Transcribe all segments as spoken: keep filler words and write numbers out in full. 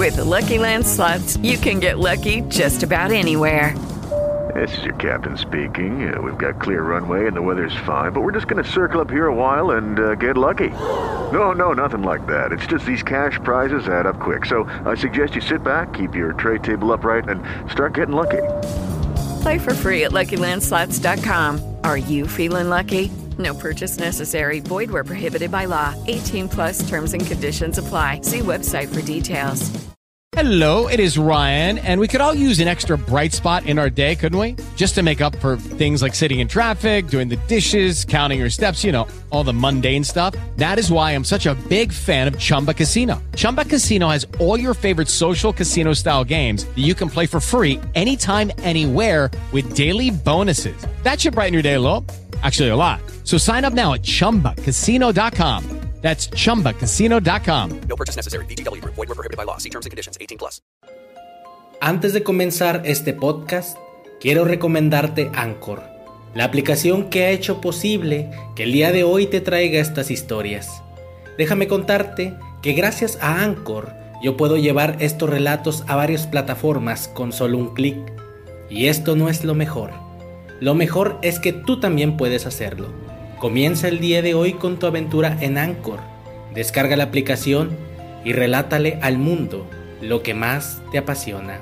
With the Lucky Land Slots, you can get lucky just about anywhere. This is your captain speaking. Uh, we've got clear runway and the weather's fine, but we're just going to circle up here a while and uh, get lucky. No, no, nothing like that. It's just these cash prizes add up quick. So I suggest you sit back, keep your tray table upright, and start getting lucky. Play for free at Lucky Land Slots dot com. Are you feeling lucky? No purchase necessary. Void where prohibited by law. eighteen plus terms and conditions apply. See website for details. Hello, it is Ryan, and we could all use an extra bright spot in our day, couldn't we? Just to make up for things like sitting in traffic, doing the dishes, counting your steps, you know, all the mundane stuff. That is why I'm such a big fan of Chumba Casino. Chumba Casino has all your favorite social casino-style games that you can play for free anytime, anywhere with daily bonuses. That should brighten your day a little. Actually, a lot. So sign up now at chumba casino dot com. That's chumba casino dot com. No purchase necessary. V G W Group. Void where prohibited by law. See terms and conditions. eighteen plus. Antes de comenzar este podcast, quiero recomendarte Anchor, la aplicación que ha hecho posible que el día de hoy te traiga estas historias. Déjame contarte que gracias a Anchor yo puedo llevar estos relatos a varias plataformas con solo un clic. Y esto no es lo mejor. Lo mejor es que tú también puedes hacerlo. Comienza el día de hoy con tu aventura en Anchor. Descarga la aplicación y relátale al mundo lo que más te apasiona.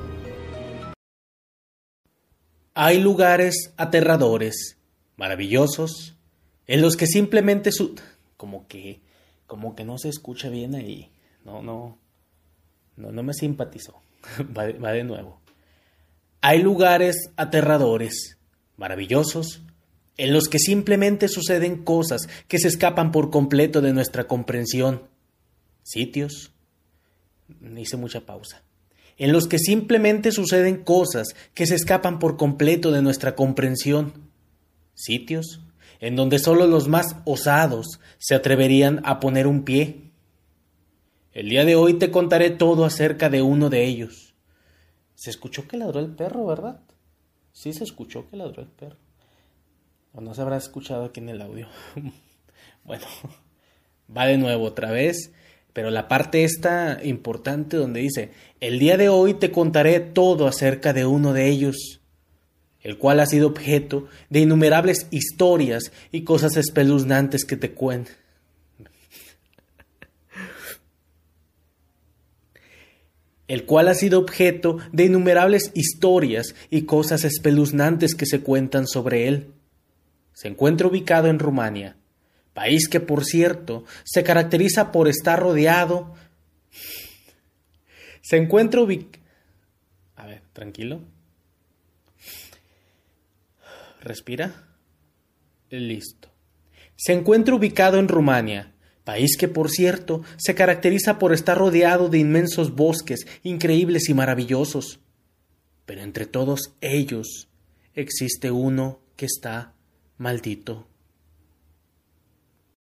Hay lugares aterradores, maravillosos, en los que simplemente su... Como que, como que no se escucha bien ahí. No, no, no, no me simpatizó. Va de, va de nuevo. Hay lugares aterradores, maravillosos, en los que simplemente suceden cosas que se escapan por completo de nuestra comprensión. Sitios, hice mucha pausa, en los que simplemente suceden cosas que se escapan por completo de nuestra comprensión. Sitios en donde solo los más osados se atreverían a poner un pie. El día de hoy te contaré todo acerca de uno de ellos. Se escuchó que ladró el perro, ¿verdad? Sí se escuchó que ladró el perro. O no se habrá escuchado aquí en el audio. Bueno, va de nuevo otra vez. Pero la parte esta importante donde dice: el día de hoy te contaré todo acerca de uno de ellos, el cual ha sido objeto de innumerables historias y cosas espeluznantes que te cuentan. El cual ha sido objeto de innumerables historias y cosas espeluznantes que se cuentan sobre él. Se encuentra ubicado en Rumania, país que, por cierto, se caracteriza por estar rodeado... Se encuentra ubicado... A ver, tranquilo. Respira. Listo. Se encuentra ubicado en Rumania, país que, por cierto, se caracteriza por estar rodeado de inmensos bosques increíbles y maravillosos. Pero entre todos ellos existe uno que está maldito.